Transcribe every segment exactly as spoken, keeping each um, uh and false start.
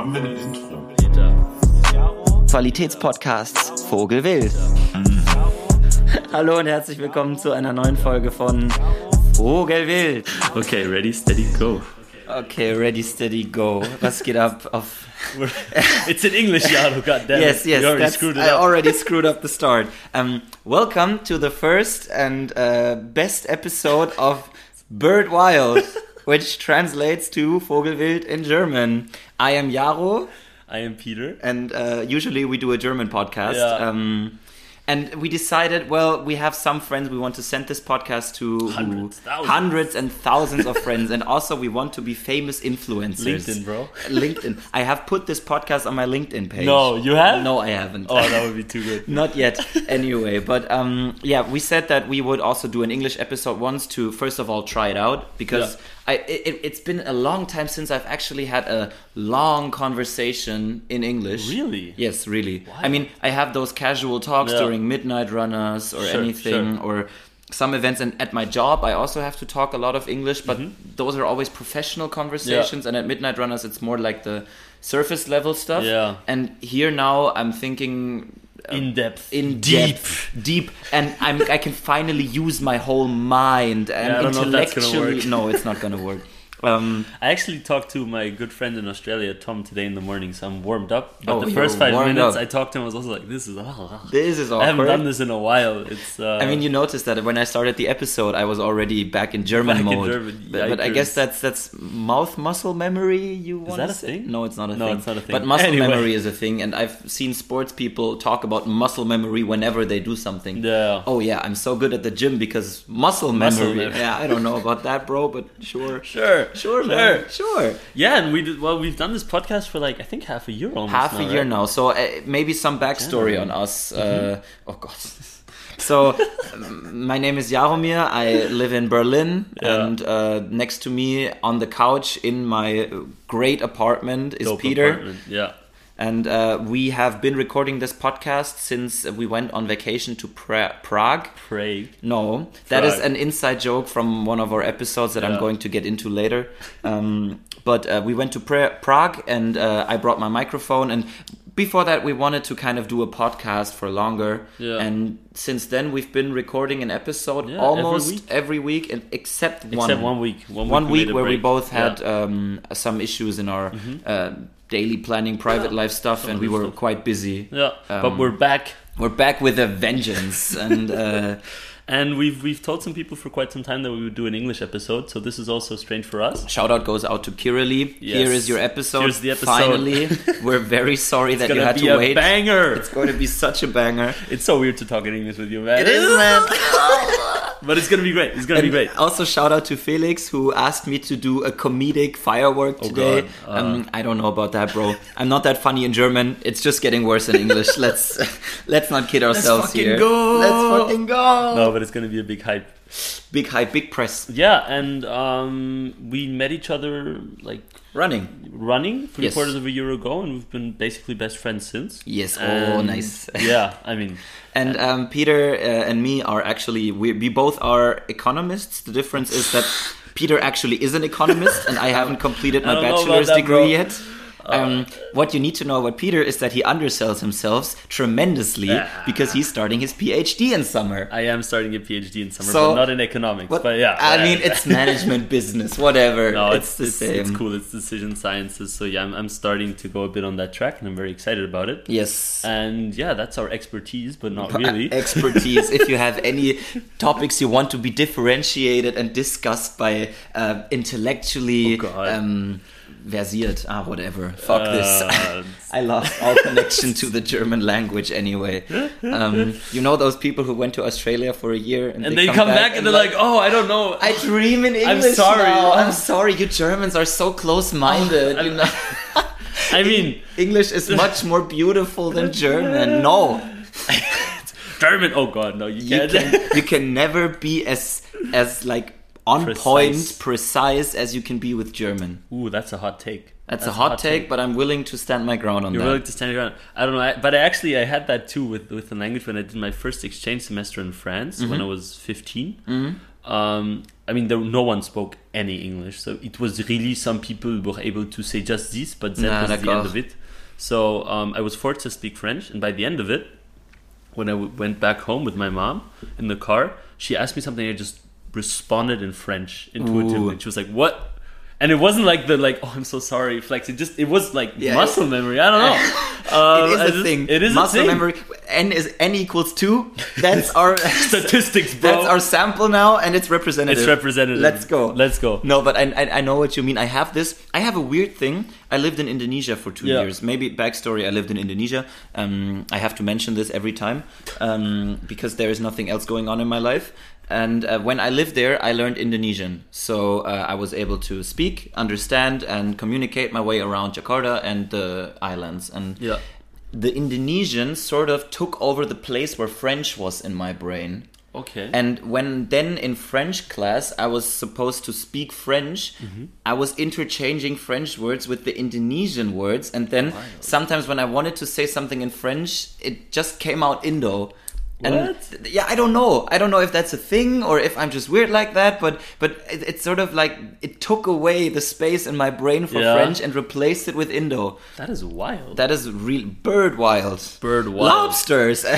Haben wir ein Intro? Qualitätspodcasts Vogelwild. Hallo und herzlich willkommen zu einer neuen Folge von Vogelwild. Okay, ready, steady, go. Okay, ready, steady, go. Was geht ab auf... It's in English, Yaro, goddammit. Yes, yes, you already that's, screwed it I up. already screwed up the start. Um, welcome to the first and uh, best episode of Bird Wild, which translates to Vogelwild in German. I am Yaro. I am Peter. And uh, usually we do a German podcast. Yeah. Um, and we decided, well, we have some friends we want to send this podcast to. Hundreds, thousands. Hundreds and thousands of friends. And also we want to be famous influencers. LinkedIn, bro. LinkedIn. I have put this podcast on my LinkedIn page. No, you have? No, I haven't. Oh, that would be too good. Not yet. Anyway, but um, yeah, we said that we would also do an English episode once to, first of all, try it out. Because... Yeah. I, it, it's been a long time since I've actually had a long conversation in English. Really? Yes, really. Why? I mean, I have those casual talks Yeah. during midnight runners or Sure, anything, sure. or some events. And at my job, I also have to talk a lot of English, but Mm-hmm. those are always professional conversations. And at midnight runners, it's more like the surface level stuff. Yeah. And here now, I'm thinking... In depth. in Deep. depth, deep, and I'm I can finally use my whole mind and Yeah, I don't know if that's gonna intellectually. work. No, it's not gonna work. Um, I actually talked to my good friend in Australia, Tom, today in the morning, so I'm warmed up. But Oh, the you're first five warmed minutes up. I talked to him, I was also like, this is... Oh, this is I haven't awkward. done this in a while. It's. Uh, I mean, you noticed that when I started the episode, I was already back in German Back in mode. German, but, but I yikers. guess that's that's mouth muscle memory. You want that to a say? thing? No, it's not a No, thing. it's not a thing. But muscle Anyway. memory is a thing, and I've seen sports people talk about muscle memory whenever they do something. Yeah. Oh yeah, I'm so good at the gym because muscle memory. Muscle memory. Yeah, I don't know about that, bro, but sure. Sure. Sure, man. Sure. Yeah, and we did, well, we've done this podcast for like, I think half a year almost Half now, a year right? now. So uh, maybe some backstory Yeah. on us. Uh, oh, God. So, um, my name is Jaromir. I live in Berlin. Yeah. And uh, next to me on the couch in my great apartment is Dope Peter. apartment, Yeah. And uh, we have been recording this podcast since we went on vacation to pra- Prague. Prague. No, that is Prague. an inside joke from one of our episodes that I'm Yeah. going to get into later. Um, but uh, we went to pra- Prague and uh, I brought my microphone. And before that, we wanted to kind of do a podcast for longer. Yeah. And since then, we've been recording an episode Yeah, almost every week. every week, and except one. Except one week. One, One week, week made a where we break. both had Yeah. um, some issues in our uh, daily planning, private Yeah. life stuff, Some and we good were stuff. quite busy. Yeah, Um, but we're back, We're back with a vengeance, and uh, and we've we've told some people for quite some time that we would do an English episode. So this is also strange for us. shout out goes out to Kirili. Yes. Here is your episode. Here's the episode. Finally, we're very sorry that It's you gonna had be to a wait. banger. It's going to be such a banger. It's so weird to talk in English with you, man. It is, man. But it's gonna be great. It's gonna be And great. also shout out to Felix who asked me to do a comedic firework Oh, today. God. Uh. um, I don't know about that, bro. I'm not that funny in German. It's just getting worse in English. let's let's not kid ourselves fucking here. go. Let's fucking go. No, but it's gonna be a big hype. Big hype, big press. Yeah, and um, we met each other like Running. running three Yes. quarters of a year ago, and we've been basically best friends since. Yes. Oh, And, nice. Yeah, I mean, And um, Peter uh, and me are actually, we, we both are economists. The difference is that Peter actually is an economist and I haven't completed I my don't know about bachelor's that, degree bro. yet. Um, what you need to know about Peter is that he undersells himself tremendously Yeah. because he's starting his PhD in summer. I am starting a PhD in summer, So- but not in economics. What- But yeah, I yeah. mean, it's management business, whatever. No, it's, it's the it's, same. it's cool. It's decision sciences. So yeah, I'm, I'm starting to go a bit on that track, and I'm very excited about it. Yes. And yeah, that's our expertise, but not really. Expertise. If you have any topics you want to be differentiated and discussed by uh, intellectually Oh, God. um, versiert, ah, whatever. Fuck Uh, this. I lost all connection to the German language anyway. Um, you know those people who went to Australia for a year and, and they, come, back, and they're like, "Oh, I don't know." I dream in I'm English sorry. now. I'm sorry. You Germans are so close-minded. you know, I mean, English is much more beautiful than German. No. German. Oh God, no, you you can't. can you can never be as as like on Precise. point, precise as you can be with German. Ooh, that's a hot take. That's, a hot, take, but I'm willing to stand my ground on You're that. willing to stand your ground. I don't know, I, but I actually I had that too with with the language when I did my first exchange semester in France when I was fifteen. Mhm. um, I mean, there, no one spoke any English, so it was really some people were able to say just this, but that Nah, was the d'accord. end of it. So um, I was forced to speak French, and by the end of it, when I w- went back home with my mom in the car, she asked me something. I just responded in French intuitively, Ooh. and she was like, "What?" And it wasn't like the like, "Oh, I'm so sorry," flex. It just it was like Yeah. muscle memory. I don't know. Um, it is I a just- thing. It is muscle a thing. memory. N is n equals two. That's our Statistics, bro. That's our sample now, and it's representative. It's representative. Let's go. Let's go. No, but I, I I know what you mean. I have this. I have a weird thing. I lived in Indonesia for two Yeah. years. Maybe backstory. I lived in Indonesia. Um, I have to mention this every time um, because there is nothing else going on in my life. And uh, when I lived there, I learned Indonesian. So uh, I was able to speak, understand, and communicate my way around Jakarta and the islands. And Yeah. the Indonesian sort of took over the place where French was in my brain. Okay. And when then in French class I was supposed to speak French, I was interchanging French words with the Indonesian words, and then sometimes when I wanted to say something in French, it just came out Indo. And What? yeah, I don't know. I don't know if that's a thing or if I'm just weird like that, but but it, it's sort of like it took away the space in my brain for Yeah. French and replaced it with Indo. That is wild. That is real bird wild. Bird wild. Lobsters.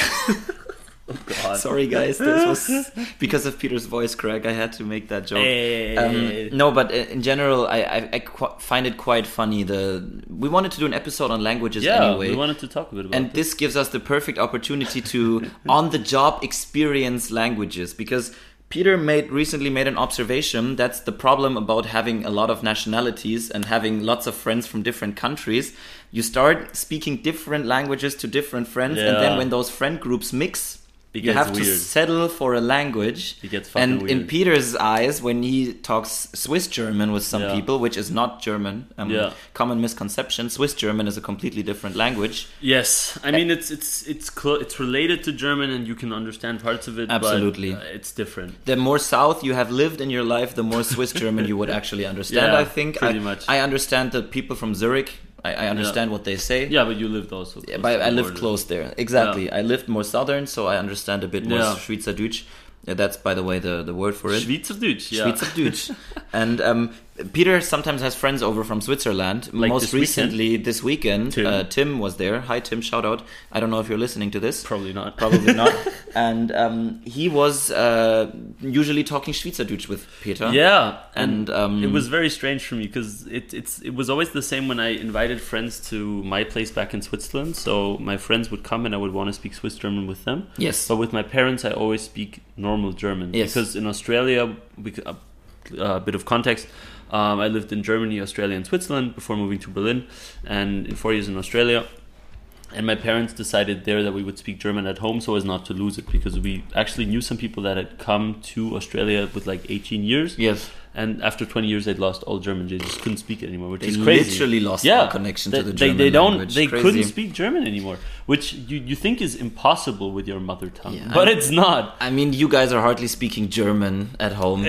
God. Sorry, guys. This was because of Peter's voice crack. I had to make that joke. Hey. Um, no, but in general, I, I, I qu- find it quite funny. The we wanted to do an episode on languages Yeah, anyway, we wanted to talk a bit about and this. this gives us the perfect opportunity to on-the-job experience languages, because Peter made recently made an observation. That's the problem about having a lot of nationalities and having lots of friends from different countries. You start speaking different languages to different friends, and then Yeah. when those friend groups mix, It you gets have to weird. settle for a language. It gets fucking and in weird. Peter's eyes, when he talks Swiss German with some Yeah. people, which is not German, um, Yeah. common misconception, Swiss German is a completely different language. Yes, I mean it's it's it's clo- it's related to German, and you can understand parts of it. Absolutely. but, uh, it's different. The more south you have lived in your life, the more Swiss German you would actually understand. Yeah, I think. pretty I, much. I understand the people from Zurich. I, I understand what they say. Yeah, but you lived also. Yeah, close but to I the lived border. close there. Exactly. I lived more southern, so I understand a bit more Yeah. Schweizerdeutsch. Yeah, that's, by the way, the, the word for it. Schweizerdeutsch, yeah. Schweizerdeutsch. And um, Peter sometimes has friends over from Switzerland. Like Most this weekend? recently, this weekend, Tim. Uh, Tim was there. Hi, Tim. Shout out. I don't know if you're listening to this. Probably not. Probably not. And um, he was uh, usually talking Schweizerdeutsch with Peter. Yeah, And, um, it was very strange for me because it it's it was always the same when I invited friends to my place back in Switzerland. So my friends would come and I would want to speak Swiss German with them. Yes. But with my parents, I always speak normal German. Yes. Because in Australia, we, c- a, a bit of context. Um, I lived in Germany, Australia, and Switzerland before moving to Berlin, and in four years in Australia. And my parents decided there that we would speak German at home so as not to lose it, because we actually knew some people that had come to Australia with like eighteen years. Yes. And after twenty years, they'd lost all German. They just couldn't speak it anymore, which They is crazy. literally lost yeah, all connection they, to the they, German they don't. language. They Crazy. couldn't speak German anymore, which you, you think is impossible with your mother tongue, Yeah, but I- it's not. I mean, you guys are hardly speaking German at home.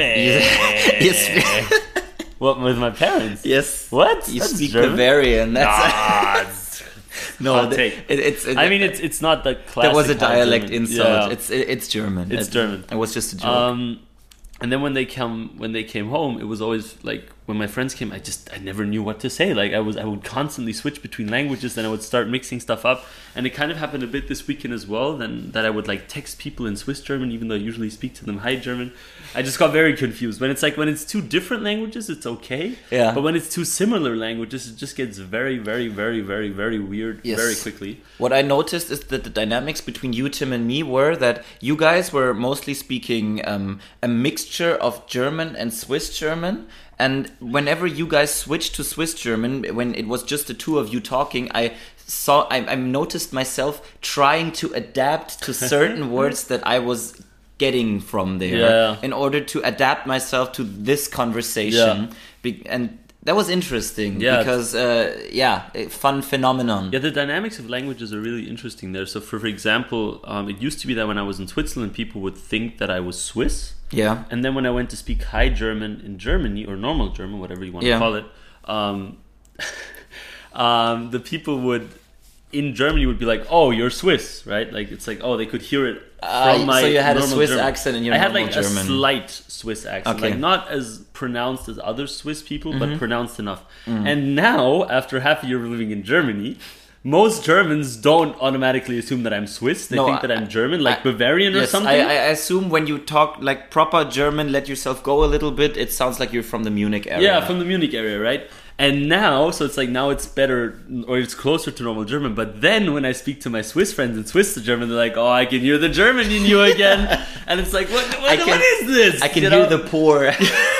Eh. You speak- What, with my parents? yes. What? You That's speak German? Bavarian. That's Ah, it's- no. I'll th- take. It, it's. It, I mean, it's it's not the classic. there was a high dialect German. insult. Yeah. It's it, it's German. It's It- German. It was just a joke. Um, and then when they come, when they came home, it was always like when my friends came, I just I never knew what to say. Like I was, I would constantly switch between languages, then I would start mixing stuff up, and it kind of happened a bit this weekend as well. Then that I would like text people in Swiss German, even though I usually speak to them High German. I just got very confused. When it's like when it's two different languages, it's okay. Yeah. But when it's two similar languages, it just gets very, very, very, very, very weird Yes. very quickly. What I noticed is that the dynamics between you, Tim, and me were that you guys were mostly speaking um, a mixture of German and Swiss German. And whenever you guys switched to Swiss German, when it was just the two of you talking, I saw, I, I noticed myself trying to adapt to certain words that I was getting from there Yeah. in order to adapt myself to this conversation. Be- and that was interesting Yeah. because, uh, yeah, a fun phenomenon. Yeah, the dynamics of languages are really interesting there. So, for, for example, um, it used to be that when I was in Switzerland, people would think that I was Swiss. Yeah. And then when I went to speak High German in Germany, or normal German, whatever you want Yeah. to call it, um, um, the people would in Germany would be like, oh, you're Swiss, right? Like it's like, oh, they could hear it from Uh, my so you had a normal Swiss German. accent in your I had normal like German. a slight Swiss accent, Okay. like not as pronounced as other Swiss people, Mm-hmm. but pronounced enough. Mm. And now, after half a year of living in Germany, most Germans don't automatically assume that I'm Swiss. They No, think that I- I'm German, like I- Bavarian or Yes, something. I, I assume when you talk like proper German, let yourself go a little bit, it sounds like you're from the Munich area. Yeah, from the Munich area, right? And now, so it's like now it's better or it's closer to normal German. But then when I speak to my Swiss friends in Swiss German, they're like, "Oh, I can hear the German in you again," and it's like, "What? What, I can- what is this?" I can You hear know? the poor.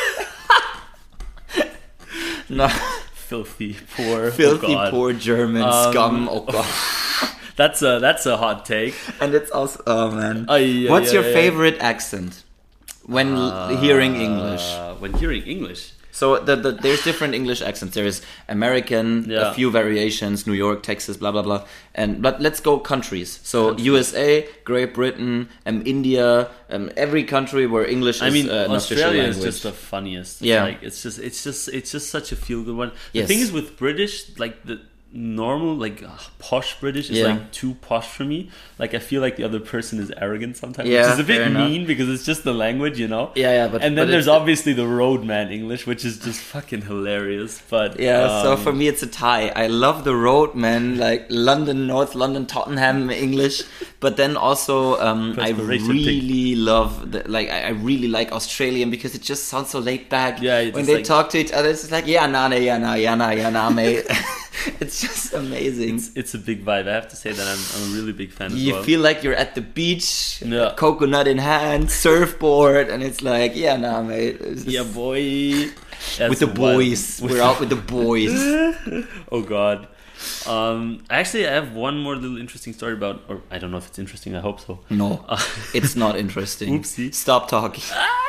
No, filthy poor, filthy oh God. poor German Um, scum. Oh god. That's a that's a hot take. And it's also, oh man. Ay, ay, What's ay, your ay. favorite accent when l hearing English? Uh, when hearing English, So the, the, there's different English accents. There is American, Yeah. a few variations, New York, Texas, blah blah blah. And but let's go countries. So U S A, Great Britain, um, India, um, every country where English is I mean, uh, an official Australia is language. just the funniest. Yeah. like it's just it's just it's just such a feel good one. The Yes. thing is with British, like the normal, like uh, posh British is Yeah. like too posh for me. Like I feel like the other person is arrogant sometimes, Yeah, which is a bit fair enough. mean because it's just the language, you know. Yeah, yeah, but and then but there's it's- obviously the roadman English, which is just fucking hilarious. But Yeah, so um, for me it's a tie. I love the roadman, like London, North London, Tottenham English, but then also um, I Perspiration really love, the, like I I really like Australian because it just sounds so laid back. Yeah, it's when just they like- talk to each other, it's just like yeah, na, yeah, na, yeah, na, yeah, na, mate. It's just amazing. it's, it's a big vibe. I have to say that I'm, I'm a really big fan. as You well. feel like you're at the beach, Yeah. coconut in hand, surfboard, and it's like yeah, nah, mate. It's just- yeah, boy. That's with the wild. boys, we're out with the boys. Oh God. Um, actually, I have one more little interesting story about, or I don't know if it's interesting. I hope so. No, Uh, it's not interesting. Oopsie. Stop talking.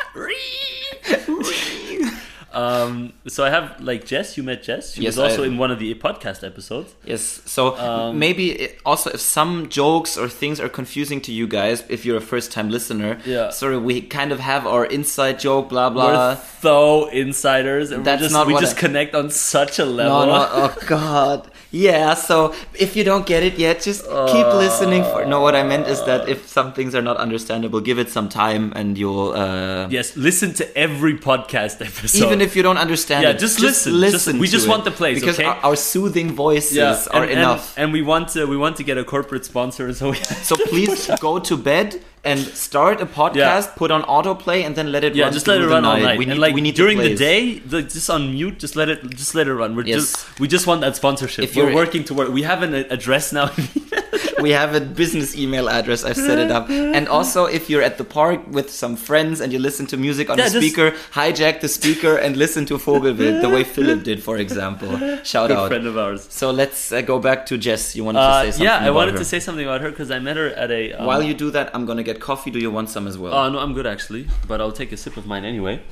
Um, so I have like Jess. You met Jess. She Yes, was also I- in one of the podcast episodes. Yes, so Um, maybe it, also if some jokes or things are confusing to you guys, if you're a first-time listener, Yeah. sorry, we kind of have our inside joke, blah blah. We're so insiders, and That's we're just, not we what just I- connect on such a level. No, no, oh god. Yeah, so if you don't get it yet, just keep listening for no what I meant is that if some things are not understandable, give it some time and you'll uh Yes, listen to every podcast episode. even if you don't understand Yeah, it, just listen. Just- we to just it. want the plays, because okay? our, our soothing voices yeah, are and, enough. And, and we want to we want to get a corporate sponsor, so we So please go to bed and start a podcast, Yeah. put on autoplay, and then let it yeah, run just let it through the run all night. night. We need, and like we need during the, the plays. day, the, just on mute. Just let it just let it run. We're Yes. just we just want that sponsorship. If We're you're- working toward. We have an address now. We have a business email address. I've set it up. And also, if you're at the park with some friends and you listen to music on Yeah, a just- speaker, hijack the speaker and listen to Vogelwild, the way Philip did, for example. Shout Good out. friend of ours. So let's uh, go back to Jess. You wanted to Uh, say something yeah, I about wanted her. to say something about her because I met her at a. Um, While you do that, I'm gonna get coffee. Do you want some as well? Oh no, I'm good actually, but I'll take a sip of mine anyway.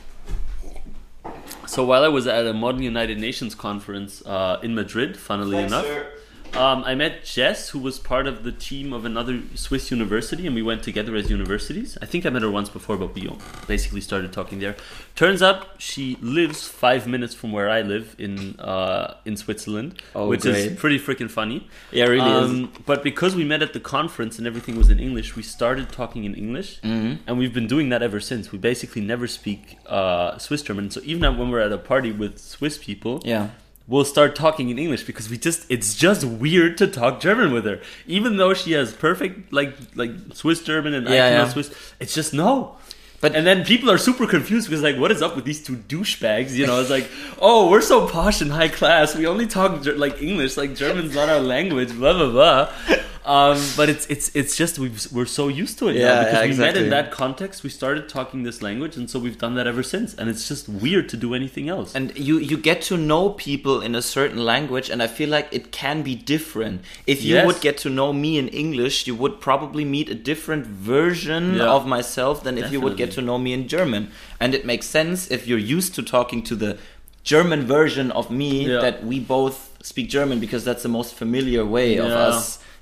So while I was at a Modern United Nations conference uh, in Madrid, funnily Thanks, enough, sir. um, I met Jess, who was part of the team of another Swiss university, and we went together as universities. I think I met her once before, but we basically started talking there. Turns out she lives five minutes from where I live in uh, in Switzerland, Oh, which great. is pretty freaking funny. Yeah, it really is. Um, But because we met at the conference and everything was in English, we started talking in English, Mm-hmm. and we've been doing that ever since. We basically never speak uh, Swiss German. So even when we're at a party with Swiss people, Yeah. we'll start talking in English because we just it's just weird to talk German with her, even though she has perfect like like Swiss German and I Yeah, can know yeah. Swiss. It's just no. But- and then people are super confused because like, what is up with these two douchebags? You know, it's like, oh, we're so posh and high class. We only talk ger- like English. Like German's not our language. Blah blah blah. Um, but it's it's it's just we've, we're so used to it Yeah, now because yeah, we met exactly. in that context. We started talking this language, and so we've done that ever since. And it's just weird to do anything else. And you, you get to know people in a certain language, and I feel like it can be different. If you Yes. would get to know me in English, you would probably meet a different version Yeah. of myself than if you would get to Definitely. know me in German. And it makes sense if you're used to talking to the German version of me Yeah. that we both speak German because that's the most familiar way of Yeah. us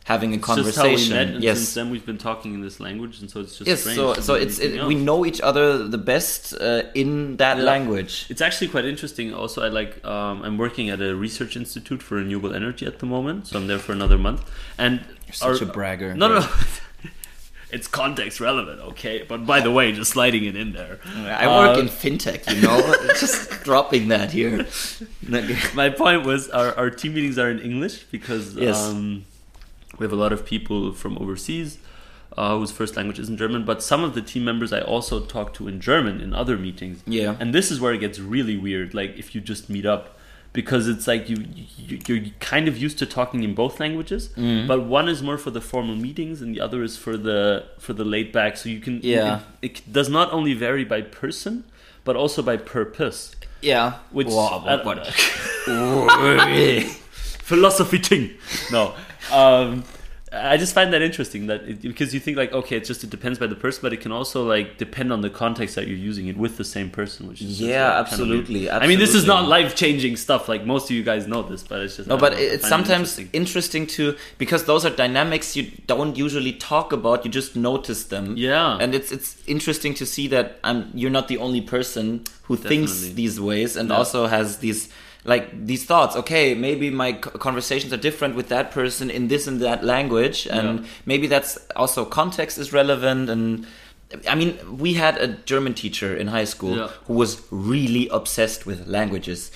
having a It's conversation. just how we met, and yes. since then we've been talking in this language, and so it's just Yes, strange. so to so do it's anything it, we else. know each other the best uh, in that Yeah. language. It's actually quite interesting. Also, I like um, I'm working at a research institute for renewable energy at the moment, so I'm there for another month. And You're such a bragger. No, no. It's context relevant, okay? But by the way, just sliding it in there. I work Uh, in fintech, you know, just dropping that here. My point was our, our team meetings are in English because Yes. um, we have a lot of people from overseas uh, whose first language isn't German, but some of the team members I also talk to in German in other meetings. Yeah. And this is where it gets really weird, like if you just meet up, because it's like you, you you're kind of used to talking in both languages, Mm. but one is more for the formal meetings and the other is for the for the laid back. So you can Yeah. it, it does not only vary by person, but also by purpose. Yeah. Which Wow, I- what, what? philosophy thing. No, um, I just find that interesting that it, because you think like okay, it just it depends by the person, but it can also like depend on the context that you're using it with the same person, which is just, Yeah, like, kind of absolutely, weird. I mean, this is absolutely. not life changing stuff. Like most of you guys know this, but it's just No, I but don't know, I it's find it sometimes interesting. interesting to because those are dynamics you don't usually talk about. You just notice them. Yeah. and it's it's interesting to see that um, you're not the only person who thinks Definitely. these ways and Yeah. also has these like these thoughts. Okay, maybe my co- conversations are different with that person in this and that language, and Yeah. maybe that's also context is relevant. And I mean, we had a German teacher in high school Yeah. who was really obsessed with languages.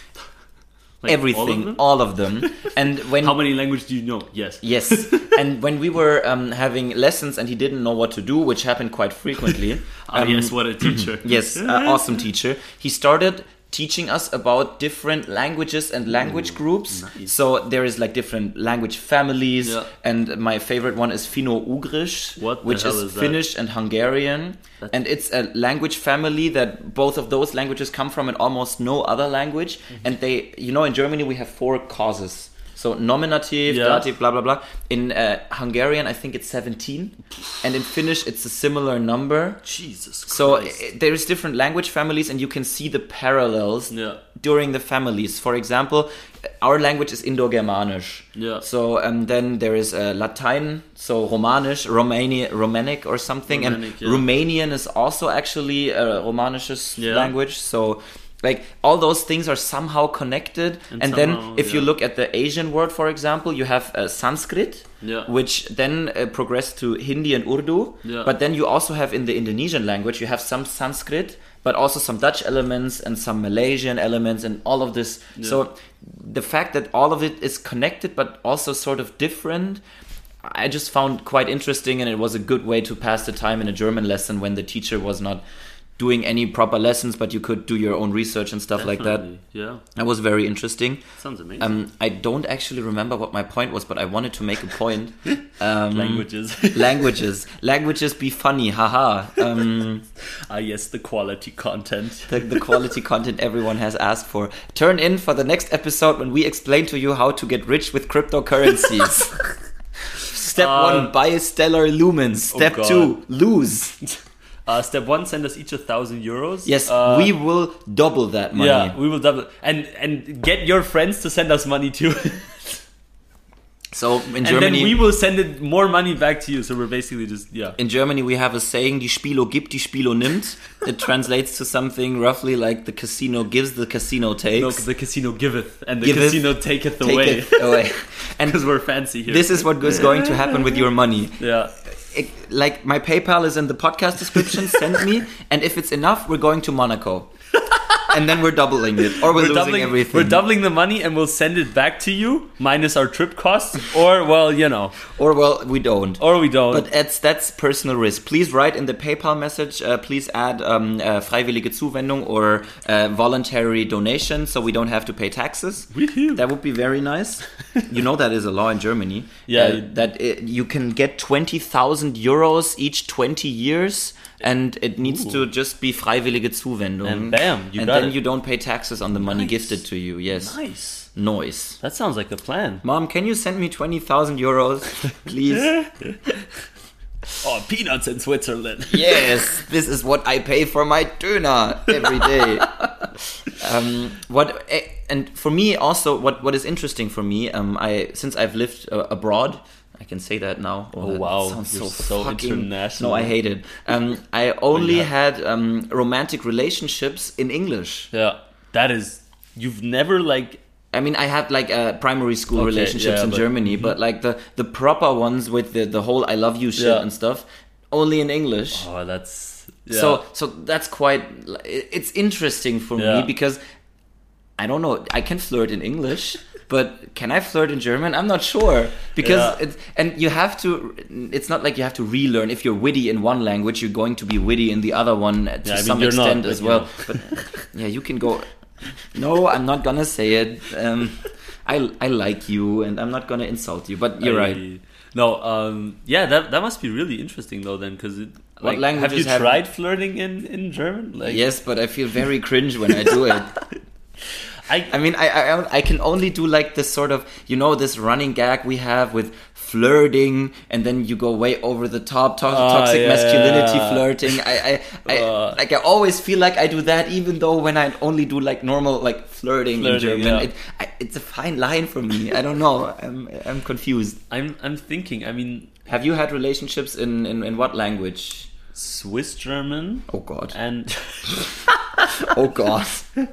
Like, Everything, all of them? all of them. And when How many languages do you know? Yes. Yes, and when we were um, having lessons and he didn't know what to do, which happened quite frequently. Ah, um, yes, what a teacher. yes, uh, awesome teacher. He started teaching us about different languages and language groups. nice. So there is like different language families, Yeah. and my favorite one is Finno-Ugrisch, What the which hell is, is that? Finnish and Hungarian. That's- And it's a language family that both of those languages come from in almost no other language. Mm-hmm. And they, you know, in Germany we have four causes. So nominative, Yeah. dative, blah blah blah. In uh, Hungarian, I think it's seventeen, and in Finnish, it's a similar number. Jesus Christ. So uh, there's different language families, and you can see the parallels Yeah. during the families. For example, our language is Indo-Germanisch. Yeah. So um, then there is uh, Latin, so Romanisch, Romani- Romanic or something, Romanic, and yeah. Romanian is also actually a Romanisches Yeah. language. So. Like all those things are somehow connected, and, And then somehow, if you yeah. look at the Asian word, for example, you have uh, Sanskrit, Yeah. which then uh, progressed to Hindi and Urdu. Yeah. But then you also have in the Indonesian language, you have some Sanskrit, but also some Dutch elements and some Malaysian elements and all of this. Yeah. So the fact that all of it is connected, but also sort of different, I just found quite interesting, and it was a good way to pass the time in a German lesson when the teacher was not doing any proper lessons, but you could do your own research and stuff like that. Definitely, Yeah. That was very interesting. Sounds amazing. Um, I don't actually remember what my point was, but I wanted to make a point. Um, Languages. languages. Languages be funny, haha. Um, Ah, yes, the quality content. the, the quality content everyone has asked for. Turn in for the next episode when we explain to you how to get rich with cryptocurrencies. Step Uh, one, buy stellar lumens. Step God. two, lose. Uh, step one, send us each a thousand euros. Yes, Uh, we will double that money. Yeah, we will double and and get your friends to send us money too. So in And Germany, then we will send it more money back to you. So we're basically just yeah. in Germany we have a saying: "Die Spielo gibt, die Spielo nimmt." It translates to something roughly like "the casino gives, the casino takes." No, the casino giveth and the Giveth, casino taketh Take away. it away. And Because we're fancy here. this is what is going to happen with your money. yeah. It, like my PayPal is in the podcast description. Send me, and if it's enough, we're going to Monaco, and then we're doubling it, or we're, We're losing doubling, everything. we're doubling the money and we'll send it back to you minus our trip costs, or well, you know, or well, we don't. or we don't. But that's that's personal risk. Please write in the PayPal message. Uh, please add um, uh, freiwillige Zuwendung or uh, voluntary donation, so we don't have to pay taxes. Woohoo. That would be very nice. You know that is a law in Germany. Yeah. uh, that it, you can get twenty thousand euros each twenty years. And it needs Ooh. to just be freiwillige Zuwendung. And bam, you and got then it. you don't pay taxes on the money Nice. gifted to you. Yes. Nice. Noise. That sounds like a plan. Mom, can you send me twenty thousand euros, please? Oh, peanuts in Switzerland. Yes, this is what I pay for my Döner every day. um, what eh, and for me also, what, what is interesting for me, um, I since I've lived uh, abroad, I can say that now. Oh, that wow. sounds You're so, so fucking international. No, I hate it. Um, I only yeah. had um, romantic relationships in English. Yeah, that is. You've never like. I mean, I had like uh, primary school Okay, relationships yeah, in but- Germany, but like the, the proper ones with the, the whole I love you shit Yeah. and stuff, only in English. Oh, that's. Yeah. So so that's quite. It's interesting for Yeah. me because I don't know. I can flirt in English, but can I flirt in German? I'm not sure because Yeah. it's, and you have to. It's not like you have to relearn. If you're witty in one language, you're going to be witty in the other one to Yeah, I mean, some you're not, extent but as you well. know. But yeah, you can go. No, I'm not gonna say it. Um, I I like you, and I'm not gonna insult you. But you're I- right. No, um, yeah, that that must be really interesting though. Then, because What like, have you languages have- tried flirting in in German? Like, Yes, but I feel very cringe when I do it. I, I mean, I, I I can only do like this sort of, you know, this running gag we have with flirting, and then you go way over the top, to- Ah, toxic yeah, masculinity yeah. flirting. I, I, I Uh. like I always feel like I do that, even though when I only do like normal like flirting, in Flirting, German, yeah. it, I, it's a fine line for me. I don't know. I'm I'm confused. I'm I'm thinking. I mean, Have you had relationships in in, in what language? Swiss German Oh God. and Oh God.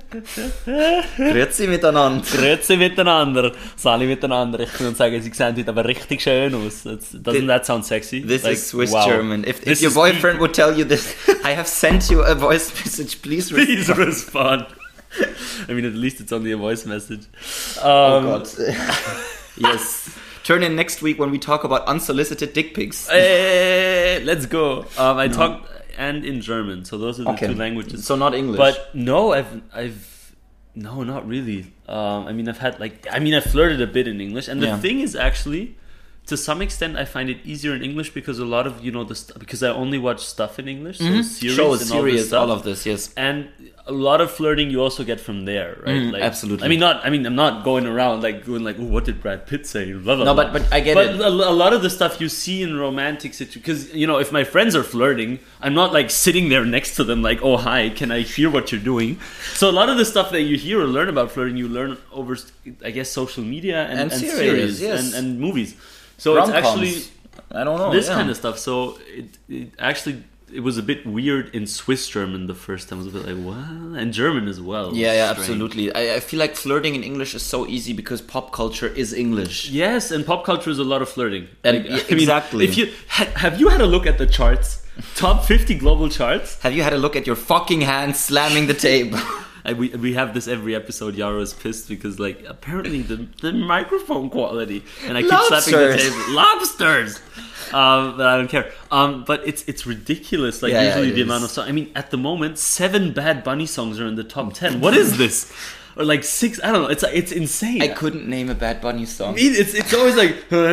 Grüezi miteinander. Grüezi miteinander, Sali miteinander. Ich würde sagen, sie sehen heute aber richtig schön aus. That's, doesn't that sound sexy? This Like, is Swiss wow. German. If, if This your is boyfriend would tell you this, I have sent you a voice message. Please respond. Please respond. I mean, at least it's only a voice message. Oh Um, God. Yes. Turn in next week when we talk about unsolicited dick pics. eh, let's go. Um, I talked and in German, so those are the Okay. two languages. So not English. But no, I've I've no, not really. Um, I mean, I've had like I mean, I flirted a bit in English, and the Yeah. thing is actually, to some extent, I find it easier in English because a lot of you know the st- because I only watch stuff in English, so series shows, and all this series, stuff. all of this, yes. And a lot of flirting you also get from there, right? Mm, absolutely. I mean, not. I mean, I'm not going around like going like, "Oh, what did Brad Pitt say?" Blah, blah, No, blah. but- but I get but it. a, a lot of the stuff you see in romantic situations, because you know, if my friends are flirting, I'm not like sitting there next to them like, "Oh, hi, can I hear what you're doing?" So a lot of the stuff that you hear or learn about flirting, you learn over, I guess, social media and, And and series, series yes. and, and movies. So Rom-coms. it's actually I don't know. this yeah. kind of stuff. So it, it actually it was a bit weird in Swiss German the first time. I was a bit like, what? And German as well. Yeah, yeah, Strange. absolutely. I, I feel like flirting in English is so easy because pop culture is English. Yes, and pop culture is a lot of flirting. And- Like, yeah, I mean, exactly. If you ha, have you had a look at the charts, top fifty global charts? Have you had a look at your fucking hand slamming the table? I, we we have this every episode. Yaro is pissed because like apparently the the microphone quality, and I keep slapping the Lobsters. table. Lobsters. Um, but I don't care. Um, but it's it's ridiculous. Like Yeah, yeah, usually it the is. amount of songs. I mean, at the moment, seven Bad Bunny songs are in the top ten. What is this? Or like six? I don't know. It's it's insane. I couldn't name a Bad Bunny song. I mean, it's it's always like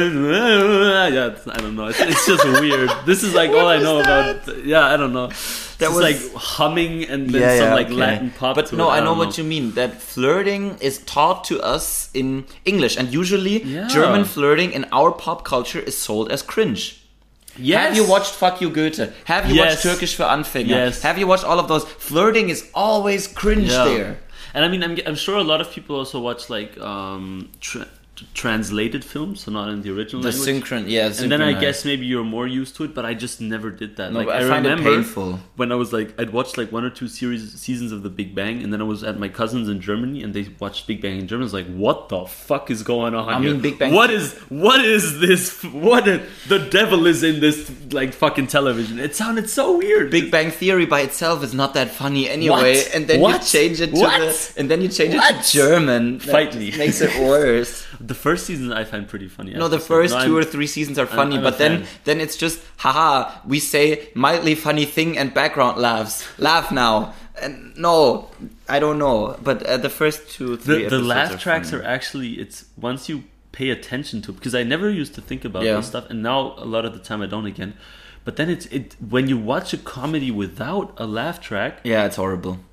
yeah. It's, I don't know. It's, it's just weird. This is like all I was know that? about. Yeah, I don't know. That It's was- like humming and then some like okay. Latin pop. But to no, it. I know don't what you mean. That flirting is taught to us in English, and usually Yeah. German flirting in our pop culture is sold as cringe. Yes. Have you watched Fuck You Goethe? Have you Yes. watched Turkish für Anfänger? Yes. Have you watched all of those? Flirting is always cringe Yeah. there. And I mean, I'm, I'm sure a lot of people also watch like um, tra- t- translated films, so not in the original The language. synchron, yeah. And then I synchronized. guess maybe you're more used to it, but I just never did that. No, like but I I, find it remember painful. when I was like, I'd watched like one or two series seasons of The Big Bang, and then I was at my cousins in Germany, and they watched Big Bang in German. I was like, what the fuck is going on I here? mean, Big Bang- What is what is this? What a, the devil is in this like fucking television? It sounded so weird. Big Bang Theory by itself is not that funny anyway, What? and then What? you change it to What? the, and then you change it What? to German. Fight That me. Makes it worse. The first season I find pretty funny. No, the actually. first No, two I'm- or three seasons are funny, I'm a but then fan. then it's just haha. We say mildly funny thing and background laughs. Laugh now. And no, I don't know. But uh, the first two, three the, the episodes laugh are tracks funny. are actually it's once you pay attention to, because I never used to think about Yeah. this stuff, and now a lot of the time I don't again. But then it's it when you watch a comedy without a laugh track, Yeah, it's horrible.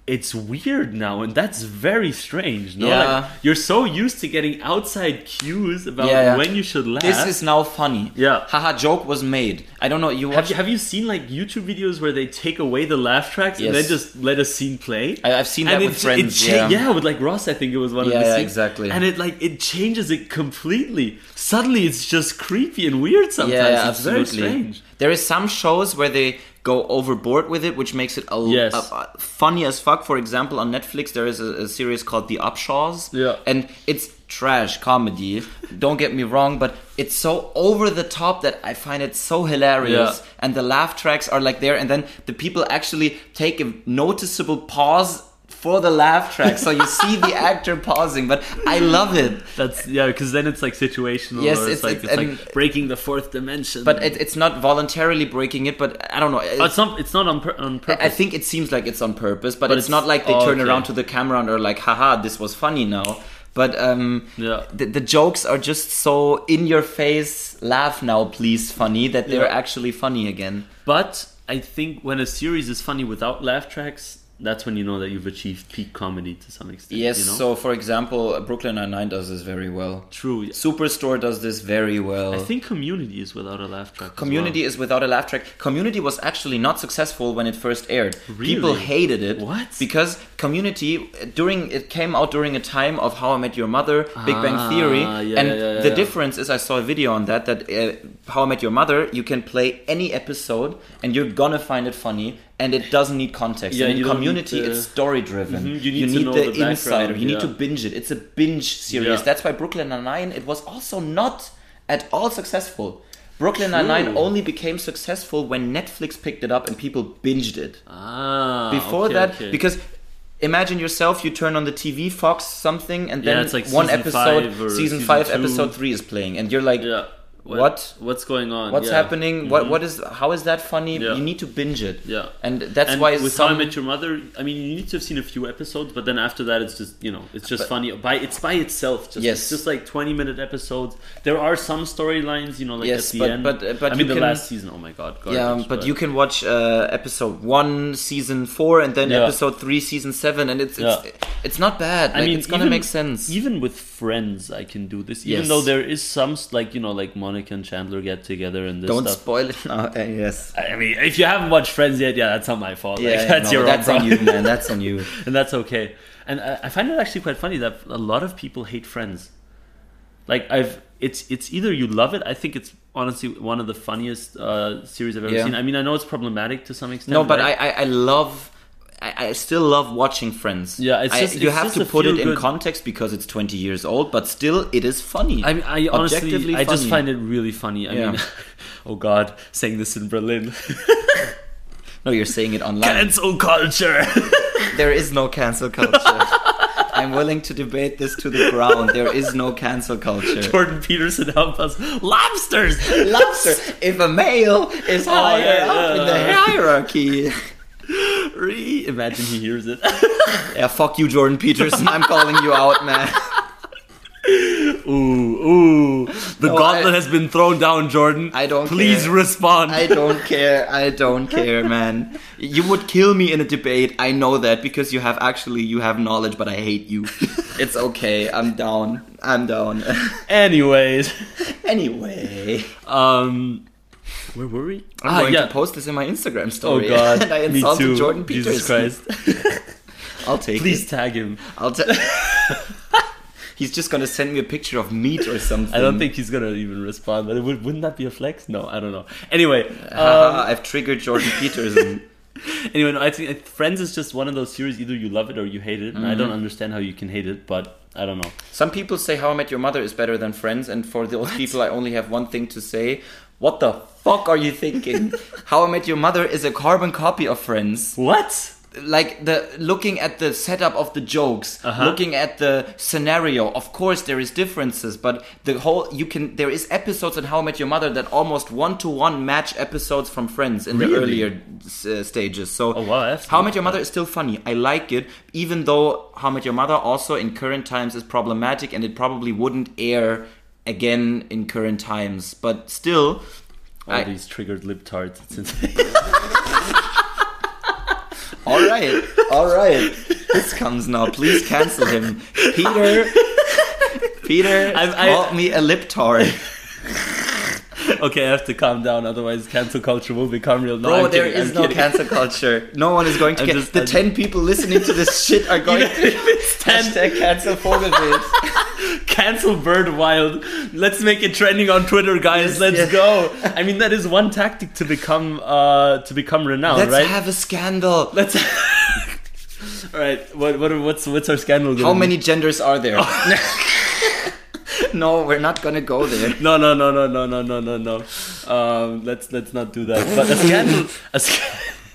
it's weird now, and that's very strange. No, Yeah. like, you're so used to getting outside cues about Yeah, yeah. when you should laugh. This is now funny. Yeah. Haha, joke was made. I don't know. You have watch? you have you seen like YouTube videos where they take away the laugh tracks Yes. and then just let a scene play? I, I've seen that and with it, friends. it cha- yeah. yeah, with like Ross, I think it was one Yeah, of the yeah, scenes. exactly. And it like it changes it completely. Suddenly, it's just creepy and weird. Sometimes Yeah, yeah, it's very absolutely. strange. There is some shows where they go overboard with it, which makes it a, Yes. a- a- funny as fuck. For example, on Netflix, there is a, a series called The Upshaws. Yeah. And it's trash comedy. Don't get me wrong, but it's so over the top that I find it so hilarious. Yeah. And the laugh tracks are like there, and then the people actually take a noticeable pause for the laugh track, so you see the actor pausing. But I love it. That's yeah, because then it's like situational. Yes, or it's- it's, like it's- it's, and- like breaking the fourth dimension. But it, it's not voluntarily breaking it. But I don't know. Oh, it's not. It's not on pur- on purpose. I think it seems like it's on purpose, but, But it's, it's- not like they oh, turn okay. around to the camera and are like, haha, this was funny now. But um, Yeah. the, the jokes are just so in your face, laugh now, please, funny, that they're Yeah. actually funny again. But I think when a series is funny without laugh tracks, that's when you know that you've achieved peak comedy to some extent. Yes, you know? so for example, Brooklyn Nine-Nine does this very well. True. Superstore does this very well. I think Community is without a laugh track. as Community well. is without a laugh track. Community was actually not successful when it first aired. Really? People hated it. What? Because Community during it came out during a time of How I Met Your Mother, Big Bang Ah, Theory, yeah, and yeah, yeah, the yeah. difference is I saw a video on that that uh, How I Met Your Mother, you can play any episode and you're gonna find it funny. And it doesn't need context. Yeah, and in you don't Community, need the- it's story driven. Mhm, you need to know the, the insider. background, You need yeah. to binge it. It's a binge series. Yeah. That's why Brooklyn Nine-Nine, it was also not at all successful. Brooklyn True. Nine-Nine only became successful when Netflix picked it up and people binged it. Ah. Before okay, that, okay. because imagine yourself, you turn on the T V, Fox something, and then Yeah, it's like one season episode, five or season, season five, two. episode three is playing, and you're like, yeah. what? What's going on? What's Yeah. happening? What Mhm. what is? How is that funny? Yeah. You need to binge it. Yeah. and that's and why with some. How I Met Your Mother, I mean, you need to have seen a few episodes, but then after that, it's just you know, it's just But- funny by it's by itself. Just, Yes. it's just like twenty minute episodes. There are some storylines, you know, like Yes, at the but- end. but- but I you mean, the can- last season. Oh my god, garbage, Yeah, but you can watch uh, episode one, season four, and then Yeah. episode three, season seven, and it's it's, Yeah. it's not bad. Like, I mean, it's gonna even- make sense. Even with Friends, I can do this. Even Yes. though there is some like you know, like Monica and Chandler get together and this Don't stuff. spoil it now. Uh, yes. I mean, if you haven't watched Friends yet, yeah, that's not my fault. Like, Yeah, that's no, your that's own on you, problem. man. That's on you. And that's okay. And I, I find it actually quite funny that a lot of people hate Friends. Like I've, it's it's either you love it. I think it's honestly one of the funniest uh, series I've ever Yeah. seen. I mean, I know it's problematic to some extent. No, but right? I, I I love. I, I still love watching Friends. Yeah, it's I- just- you it's have just to a put it in feel-good- context because it's twenty years old, but still, it is funny. I mean, I honestly, Objectively I just funny. find it really funny. I Yeah. mean, oh God, saying this in Berlin. No, you're saying it online. Cancel culture. There is no cancel culture. I'm willing to debate this to the ground. There is no cancel culture. Jordan Peterson, help us. Lobsters. Lobster. If a male is higher yeah, up yeah. in the hierarchy. Re- Imagine he hears it. Yeah, fuck you, Jordan Peterson. I'm calling you out, man. Ooh, ooh. The No, gauntlet I- has been thrown down, Jordan. I don't Please care. respond. I don't care. I don't care, man. You would kill me in a debate. I know that because you have actually you have knowledge, but I hate you. It's okay. I'm down. I'm down. Anyways, Anyway, um, where were we? I'm going to post this in my Instagram Oh story. God, and I me insulted too. Jordan Peterson. Jesus Christ! I'll take Please it. tag him. I'll ta- He's just gonna send me a picture of meat or something. I don't think he's gonna even respond. But it would, wouldn't that be a flex? No, I don't know. Anyway, Haha, um, I've triggered Jordan Peterson. anyway, no, I think uh, Friends is just one of those series. Either you love it or you hate it, and I Mm-hmm. don't understand how you can hate it. But I don't know. Some people say How I Met Your Mother is better than Friends, and for those people, I only have one thing to say. What the fuck are you thinking? How I Met Your Mother is a carbon copy of Friends. What? Like the looking at the setup of the jokes, Uh-huh. looking at the scenario. Of course, there is differences, but the whole you can there is episodes in How I Met Your Mother that almost one to one match episodes from Friends in the Really? earlier uh, stages. So Oh wow, that's How I Met Your Mother is still funny. I like it, even though How I Met Your Mother also in current times is problematic, and it probably wouldn't air again in current times. But still, all I- these triggered lip tarts. It's insane. All right, all right. This comes now. Please cancel him. Peter, Peter I'm- I- called me a liptard. Okay, I have to calm down, otherwise cancel culture will become real. No, Bro, I'm there kidding, is I'm no kidding. cancel culture. No one is going to I'm get... just- the I'm ten people listening to this shit are going Even to... if it's ten. Hashtag cancel Vogelwild. Cancel Bird Wild. Let's make it trending on Twitter, guys. Yes, Let's yes. go. I mean, that is one tactic to become uh to become renowned, Let's right? have a scandal. Let's. All right. What what what's what's our scandal? Gonna How be? many genders are there? No, we're not gonna go there. No, no, no, no, no, no, no, no, no. Um, let's let's not do that. But a scandal, a, sc-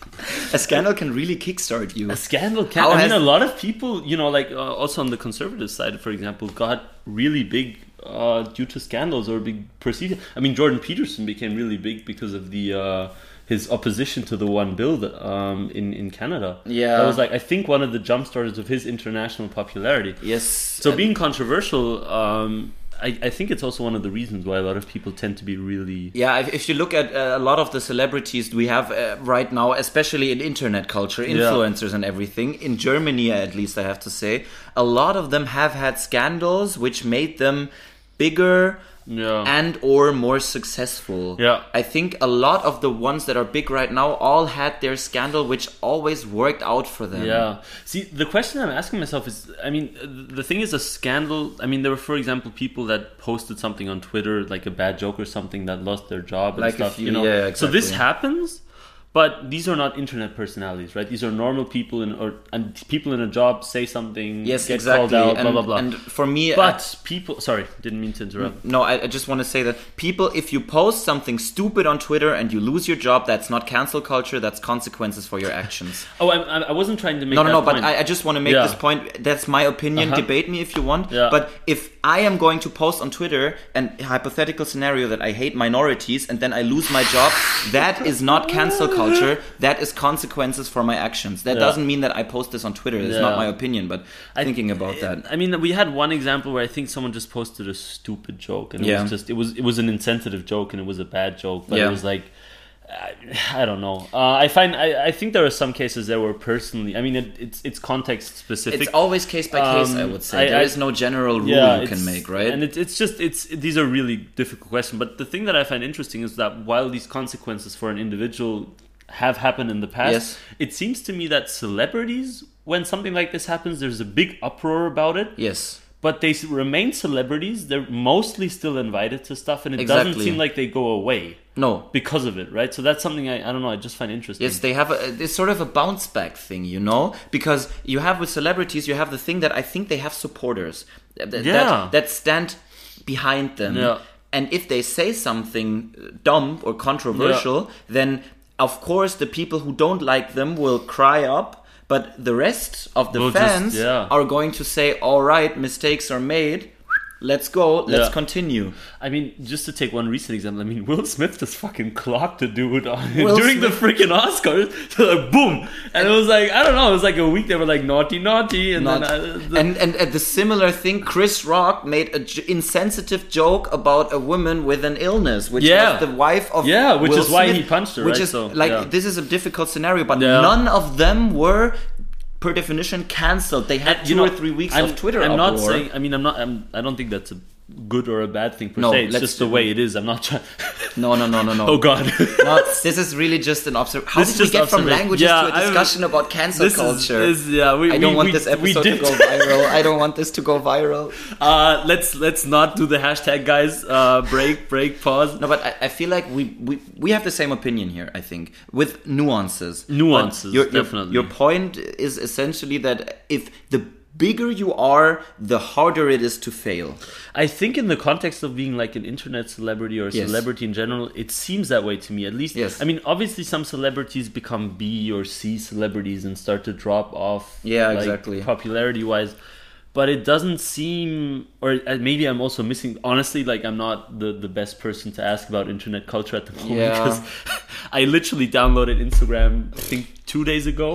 A scandal can really kickstart you. a scandal can. How I mean, has- a lot of people, you know, like uh, also on the conservative side, for example, got really big uh, due to scandals or big perceived. I mean, Jordan Peterson became really big because of the uh, his opposition to the one bill that, um, in in Canada. Yeah. that was like I think one of the jump starters of his international popularity. Yes. So being controversial, um, I, I think it's also one of the reasons why a lot of people tend to be really... Yeah, if, if you look at uh, a lot of the celebrities we have uh, right now, especially in internet culture, influencers and everything, in Germany at least I have to say, a lot of them have had scandals which made them bigger Yeah. and or more successful. Yeah. I think a lot of the ones that are big right now all had their scandal which always worked out for them. Yeah. See, the question I'm asking myself is, I mean, the thing is a scandal. I mean, there were, for example, people that posted something on Twitter, like a bad joke or something, that lost their job and Like stuff. if you- you know, yeah, so this exactly. happens. But these are not internet personalities, right? These are normal people, in, or and people in a job say something, Yes, get exactly. called out, and, blah blah blah. and for me, but people, sorry, didn't mean to interrupt. No, I, I just want to say that people, if you post something stupid on Twitter and you lose your job, that's not cancel culture, that's consequences for your actions. Oh, I, I wasn't trying to make No, no, that no, but point. I, I just want to make Yeah. this point. That's my opinion. Uh-huh. Debate me if you want. Yeah. But if I am going to post on Twitter an hypothetical scenario that I hate minorities and then I lose my job, that is not cancel culture. That is consequences for my actions. That Yeah. doesn't mean that I post this on Twitter. It's Yeah. not my opinion, but thinking about that. I mean, we had one example where I think someone just posted a stupid joke, and it Yeah. was just it was it was an insensitive joke, and it was a bad joke, but Yeah. it was like. I, I don't know. Uh, I find I, I think there are some cases there where personally, I mean, it, it's it's context specific. It's always case by case, Um, I would say. I- there I- is no general rule yeah, you it's- can make, right? And it, it's just it's these are really difficult questions. But the thing that I find interesting is that while these consequences for an individual have happened in the past, Yes. it seems to me that celebrities, when something like this happens, there's a big uproar about it. Yes. But they s- remain celebrities. They're mostly still invited to stuff, and it Exactly. doesn't seem like they go away No. because of it, right? So that's something I, I don't know. I just find interesting. Yes, they have a, it's sort of a bounce back thing, you know? Because you have with celebrities, you have the thing that I think they have supporters that, that- Yeah. that stand behind them. Yeah. And if they say something dumb or controversial, then of course the people who don't like them will cry up. But the rest of the Will just- fans yeah. are going to say, all right, mistakes are made. Let's go. Let's Yeah. continue. I mean, just to take one recent example, I mean, Will Smith just fucking clocked a dude on Will during the Smith- freaking Oscars. So like, boom, and it was like I don't know, it was like a week. They were like naughty, naughty, and Not- then I, the, and, and and the similar thing, Chris Rock made an j- insensitive joke about a woman with an illness, which Yeah. was the wife of Yeah, which Will is why Smith, he punched her, Which right? is So, like yeah. this is a difficult scenario, but Yeah. none of them were, per definition, cancelled. They had And, two you know, or three weeks I'm, of Twitter I'm uproar. not saying. I mean, I'm not. I'm, I don't think that's a good or a bad thing per No, se. It's let's just the do- way it is. I'm not trying. No, no, no, no, no. Oh God. No, this is really just an observation. How This did is we just get from observation. languages Yeah, to a I'm- discussion about cancel this culture? Is, is yeah. We, I don't we, want we, this we episode to did- go viral. I don't want this to go viral. Uh, let's let's not do the hashtag, guys. Uh, break, break, pause. No, but I, I feel like we, we we have the same opinion here, I think, with nuances. Nuances, But your, your- definitely. Your point is essentially that if the bigger you are, the harder it is to fail. I think in the context of being like an internet celebrity or a Yes. celebrity in general, it seems that way to me. At least, Yes. I mean, obviously, some celebrities become B or C celebrities and start to drop off. Yeah, like, exactly. Popularity-wise, but it doesn't seem, or uh, maybe I'm also missing. Honestly, like I'm not the the best person to ask about internet culture at the moment Yeah. because I literally downloaded Instagram. I think two days ago.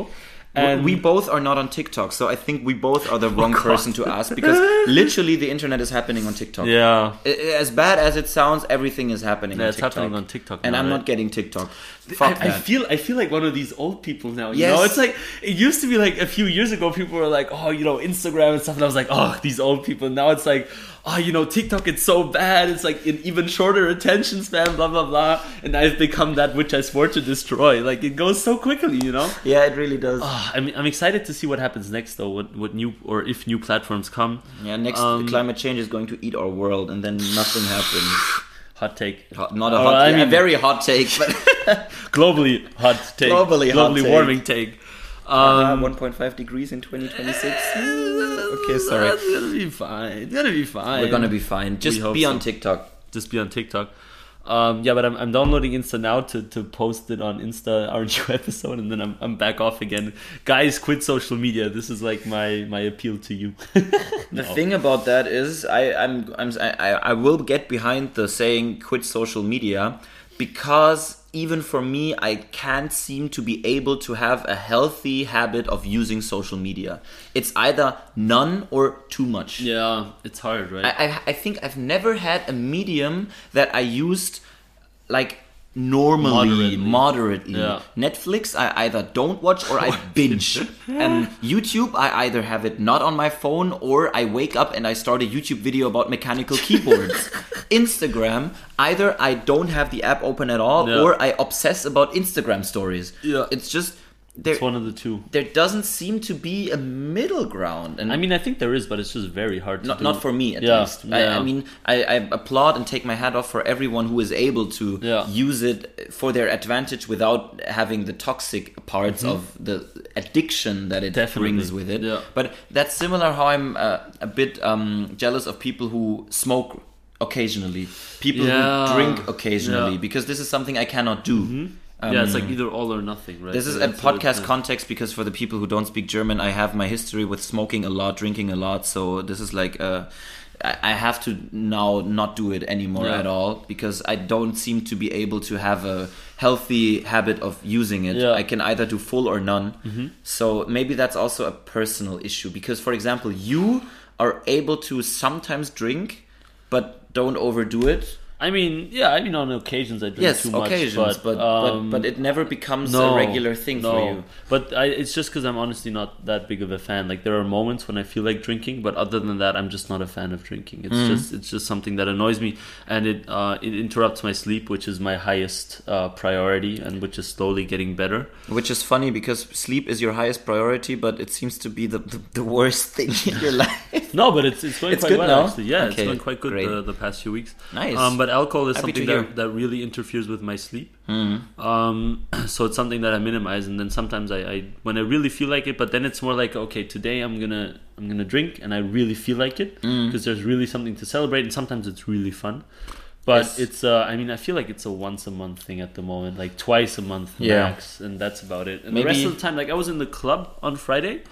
And we both are not on TikTok, so I think we both are the wrong God. person to ask, because literally the internet is happening on TikTok. yeah. I- As bad as it sounds, everything is happening Yeah, on it's TikTok. happening on TikTok And now, I'm right? not getting TikTok. I, Fuck I that. feel I feel like one of these old people now. You Yes. know, it's like it used to be like a few years ago. People were like, "Oh, you know, Instagram and stuff," and I was like, "Oh, these old people." Now it's like, "Oh, you know, TikTok. It's so bad. It's like an even shorter attention span." Blah blah blah. And I've become that which I swore to destroy. Like it goes so quickly, you know. Yeah, it really does. Oh, I mean, I'm excited to see what happens next, though. What what new or if new platforms come. Yeah, next Um, climate change is going to eat our world, and then nothing happens. Hot take. Hot, not a Oh, hot, I yeah, mean- a very hot take, but Globally hot take. Globally hot Globally take. warming take. uh, Um, one point five degrees in twenty twenty-six. Okay, sorry. It's gonna be fine. It's gonna be fine. We're gonna be fine. Just hope be so. on TikTok. Just be on TikTok. Um, yeah, but I'm, I'm downloading Insta now to, to post it on Insta, our new episode, and then I'm, I'm back off again. Guys, quit social media. This is like my, my appeal to you. The thing about that is, I, I'm, I'm, I, I will get behind the saying "quit social media," because even for me, I can't seem to be able to have a healthy habit of using social media. It's either none or too much. Yeah, it's hard, right? I, I, I think I've never had a medium that I used like normally, Moderately. moderately. Yeah. Netflix, I either don't watch or I binge. And YouTube, I either have it not on my phone or I wake up and I start a YouTube video about mechanical keyboards. Instagram, either I don't have the app open at all Yeah. or I obsess about Instagram stories. Yeah. It's just, there, it's one of the two. there doesn't seem to be a middle ground. And I mean, I think there is, but it's just very hard to not, do. not for me, at Yeah, least. I, yeah. I mean, I, I applaud and take my hat off for everyone who is able to Yeah. use it for their advantage without having the toxic parts of the addiction that it Mm-hmm. Definitely. brings with it. Yeah. But that's similar how I'm uh, a bit um, jealous of people who smoke occasionally, people Yeah. who drink occasionally, Yeah. because this is something I cannot do. Um, yeah, it's like either all or nothing, right? This is So a that's what it's podcast like. context, because for the people who don't speak German, I have my history with smoking a lot, drinking a lot. So this is like, uh, I I have to now not do it anymore Yeah. at all, because I don't seem to be able to have a healthy habit of using it. Yeah. I can either do full or none. Mm-hmm. So maybe that's also a personal issue, because, for example, you are able to sometimes drink, but don't overdo it. I mean, yeah, I mean, on occasions I drink Yes, too much. occasions, but, um, but but it never becomes no, a regular thing no. for you. But I, it's just because I'm honestly not that big of a fan. Like there are moments when I feel like drinking, but other than that, I'm just not a fan of drinking. It's just it's just something that annoys me, and it uh, it interrupts my sleep, which is my highest uh, priority, and which is slowly getting better. Which is funny, because sleep is your highest priority, but it seems to be the, the, the worst thing in your life. No, but it's it's going It's quite good well now? actually. Yeah, Okay, it's going quite good great. the, the past few weeks. Nice. Um, but alcohol is Happy to something hear. that, that really interferes with my sleep. Mm. Um, so it's something that I minimize, and then sometimes I, I when I really feel like it, but then it's more like, okay, today I'm gonna I'm gonna drink, and I really feel like it Mm. because there's really something to celebrate, and sometimes it's really fun. But Yes. it's uh, I mean I feel like it's a once a month thing at the moment, like twice a month Yeah. max, and that's about it. And Maybe- the rest of the time, like I was in the club on Friday.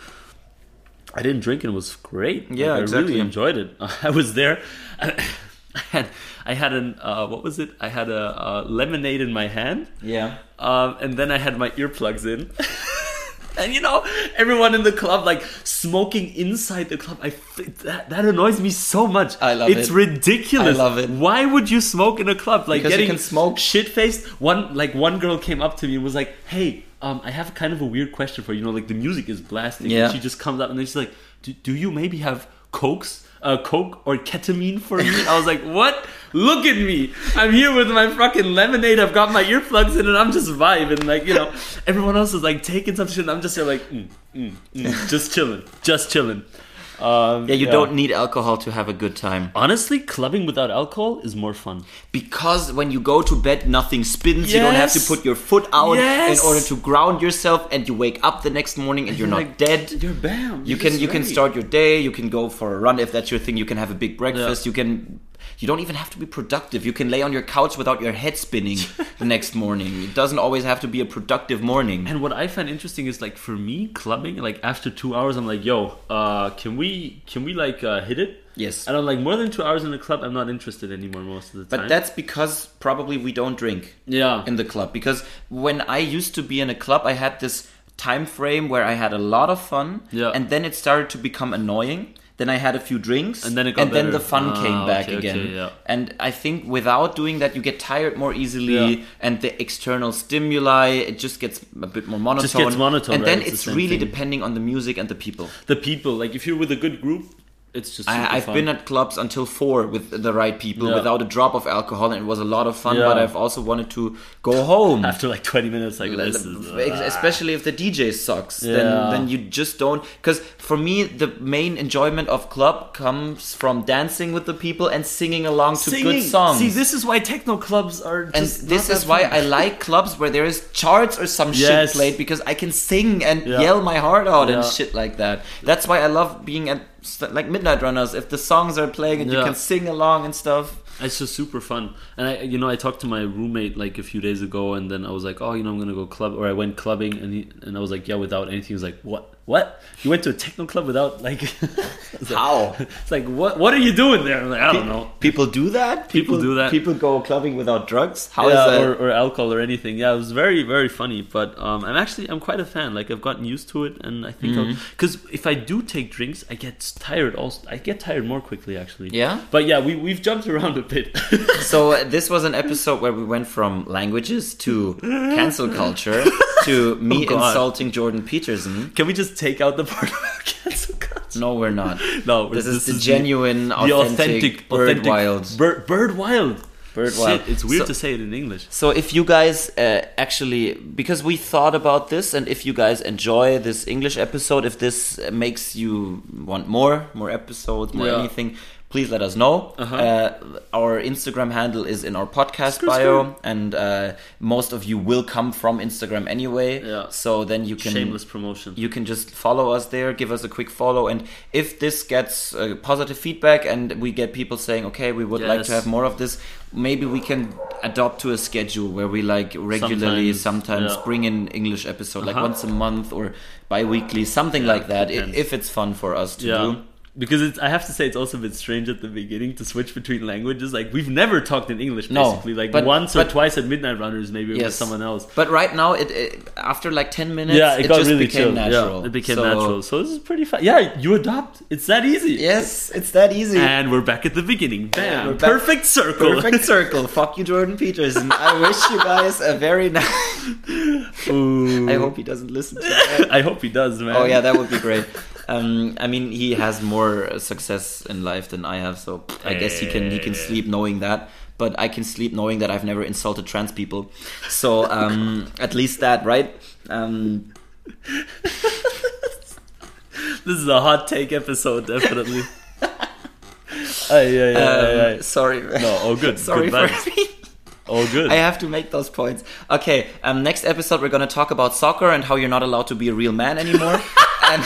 I didn't drink and it was great. Yeah, Like, I exactly. really enjoyed it. I was there. I had I had an uh, what was it? I had a, uh lemonade in my hand, Yeah. um, and then I had my earplugs in. And you know, everyone in the club like smoking inside the club. I th- that that annoys me so much. I love it's it. ridiculous. I love it. Why would you smoke in a club? Like Because you getting can smoke. shit faced. One like one girl came up to me and was like, "Hey, um, I have kind of a weird question for you. You know, like the music is blasting. Yeah. And she just comes up and then she's like, "Do, do you maybe have cokes?" Uh, coke or ketamine for me?" I was like, "What? Look at me! I'm here with my fucking lemonade. I've got my earplugs in, and I'm just vibing. Like, you know, everyone else is like taking some shit, and I'm just here like, mm, mm, mm, just chilling, just chilling." Um, Yeah, you don't need alcohol to have a good time. Honestly, clubbing without alcohol is more fun. Because when you go to bed, nothing spins. You don't have to Yes. put your foot out Yes. in order to ground yourself, and you wake up the next morning and you're not like, dead. You're bam. You You're can just you can ready. start your day. You can go for a run if that's your thing. You can have a big breakfast. Yeah. You can. You don't even have to be productive. You can lay on your couch without your head spinning the next morning. It doesn't always have to be a productive morning. And what I find interesting is like for me, clubbing, like after two hours, I'm like, yo, uh, can we can we like uh, hit it? Yes. I don't like more than two hours in the club. I'm not interested anymore most of the time. But that's because probably we don't drink yeah, in the club. Because when I used to be in a club, I had this time frame where I had a lot of fun, Yeah. and then it started to become annoying. Then I had a few drinks, And then it got and then better. the fun Ah, came back okay, again. okay, yeah. And I think without doing that, you get tired more easily, Yeah. and the external stimuli, it just gets a bit more monotone. Just gets monotone, and right? then It's the it's same really thing. depending on the music and the people. The people, like if you're with a good group, it's just super I, I've fun. been at clubs until four with the right people, Yeah. without a drop of alcohol, and it was a lot of fun. Yeah. But I've also wanted to go home. after like twenty minutes, like this is, Ex- especially if the D J sucks, Yeah. then then you just don't. Because for me, the main enjoyment of club comes from dancing with the people and singing along to good songs. See, this is why techno clubs are. and Just this not is that why fun. I like clubs where there is charts or some Yes. shit played, because I can sing and Yeah. yell my heart out and Yeah. shit like that. That's why I love being at st- like Midnight Runners. If the songs are playing and you Yeah. can sing along and stuff. It's just super fun. And I, you know, I talked to my roommate like a few days ago, and then I was like, oh, you know, I'm gonna go club, or I went clubbing, and he, and I was like, yeah, without anything. He was like, what? What? You went to a techno club without like? I was like- How? It's like, what? What are you doing there? I'm like, I don't know. People do that. People do that. People go clubbing without drugs. How is yeah, that? or, or alcohol or anything. Yeah, it was very, very funny. But um, I'm actually I'm quite a fan. Like I've gotten used to it, and I think Mm-hmm. because if I do take drinks, I get tired. Also, I get tired more quickly actually. Yeah? But yeah, we we've jumped around a bit. So uh, this was an episode where we went from languages to cancel culture to me Oh, God. insulting Jordan Peterson. Can we just take out the part about cancel culture? No, we're not. No, This, is the the- genuine, the authentic, bird authentic wild. Bird, bird wild. Bird Shit, wild. it's weird So- to say it in English. So if you guys uh, actually, because we thought about this, and if you guys enjoy this English episode, if this uh, makes you want more, more episodes, more Yeah. anything, please let us know. Uh-huh. Uh, our Instagram handle is in our podcast Screw, bio, screw. and uh, most of you will come from Instagram anyway. Yeah. So then you can Shameless promotion. you can just follow us there, give us a quick follow, and if this gets uh, positive feedback and we get people saying, okay, we would like to Yes. have more of this, maybe we can adopt to a schedule where we like regularly Sometimes, sometimes yeah. bring in English episode, like Uh-huh. once a month or bi-weekly, something Yeah, like that, i- depends. if it's fun for us to yeah. do. Because it's, I have to say, it's also a bit strange at the beginning to switch between languages. Like, we've never talked in English, No, basically. Like, but- once or but- twice at Midnight Runners, maybe with Yes. someone else. But right now, it, it after like ten minutes, Yeah, it, got just really became chill. natural. Yeah, it became So- natural. So this is pretty fun. Yeah, you adopt. It's that easy. Yes, it's that easy. And we're back at the beginning. Bam. Yeah, we're back- Perfect circle. Perfect circle. Fuck you, Jordan Peterson. I wish you guys a very nice. Ooh. I hope he doesn't listen to that. I hope he does, man. Oh yeah, that would be great. Um, I mean, he has more success in life than I have, so I guess he can he can sleep knowing that. But I can sleep knowing that I've never insulted trans people. So um, at least that, right? Um, This is a hot take episode, definitely. Ay, ay, ay, um, ay, ay. sorry. No, all good. Sorry Good for vibes. me. All good. I have to make those points. Okay, um, next episode we're gonna talk about soccer and how you're not allowed to be a real man anymore. and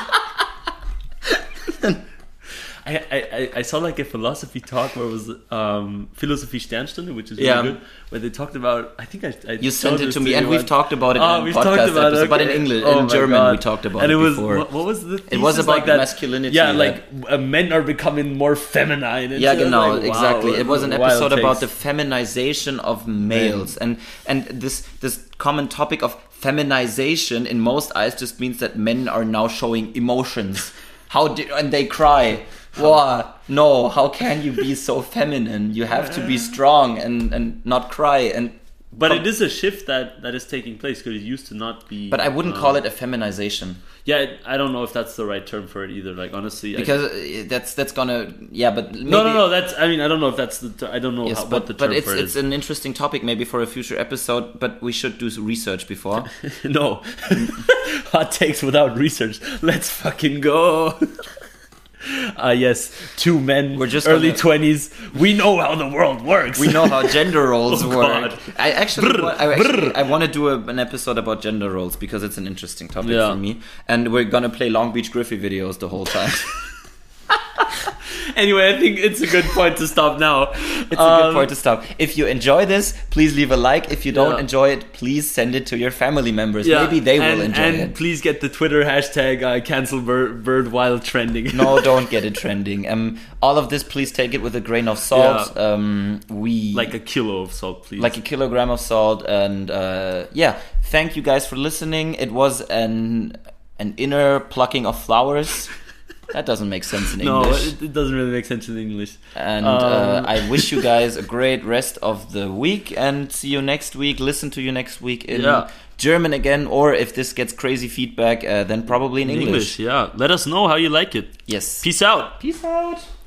I, I, I- I saw like a philosophy talk where it was um, Philosophie Sternstunde, which is really Yeah. good, where they talked about. I think I, I you showed sent it this to me, you and we've once. talked about it Oh, in a we've podcast talked about episode, it, but in okay. English, Oh in my German, God. we talked about and it it was, before. What, what was the? It was thesis? about like that, masculinity, Yeah, yeah. like uh, men are becoming more feminine. And Yeah, so, genau, like, wow, exactly. It was an wild episode about the takes. feminization of males, and and this this common topic of feminization in most eyes just means that men are now showing emotions. How do and they cry? Wow, no! How can you be so feminine? You have to be strong and and not cry. And But it is a shift that, that is taking place because it used to not be. but I wouldn't uh, call it a feminization. Yeah, it, I don't know if that's the right term for it either. Like honestly, I- Because uh, that's that's gonna yeah, but maybe, no, no, no. That's I mean I don't know if that's the ter- I don't know Yes, how, but, what the but term it's for it it's is. an interesting topic maybe for a future episode. But we should do some research before. No, hot takes without research. Let's fucking go. Ah, yes, two men, We're just early gonna- twenties. We know how the world works. We know how gender roles Oh, work. God. I actually, Brr, wa- I, actually brr. I want to do a, an episode about gender roles because it's an interesting topic Yeah. for me, and we're gonna play Long Beach Griffey videos the whole time. Anyway, I think it's a good point to stop now. It's a good point to stop. If you enjoy this, please leave a like. If you don't Yeah. enjoy it, please send it to your family members. Yeah, Maybe they and, will enjoy and it. please get the Twitter hashtag uh, cancel bird, bird wild trending. No, don't get it trending. Um, all of this, please take it with a grain of salt. Yeah. Um, we Like a kilo of salt, please. like a kilogram of salt, and uh, yeah, thank you guys for listening. It was an an inner plucking of flowers. That doesn't make sense in no, English. it, it doesn't really make sense in English. And Um, uh, I wish you guys a great rest of the week, and see you next week. Listen to you next week in Yeah. German again, or if this gets crazy feedback, uh, then probably in, In English. English, yeah. Let us know how you like it. Yes. Peace out. Peace out.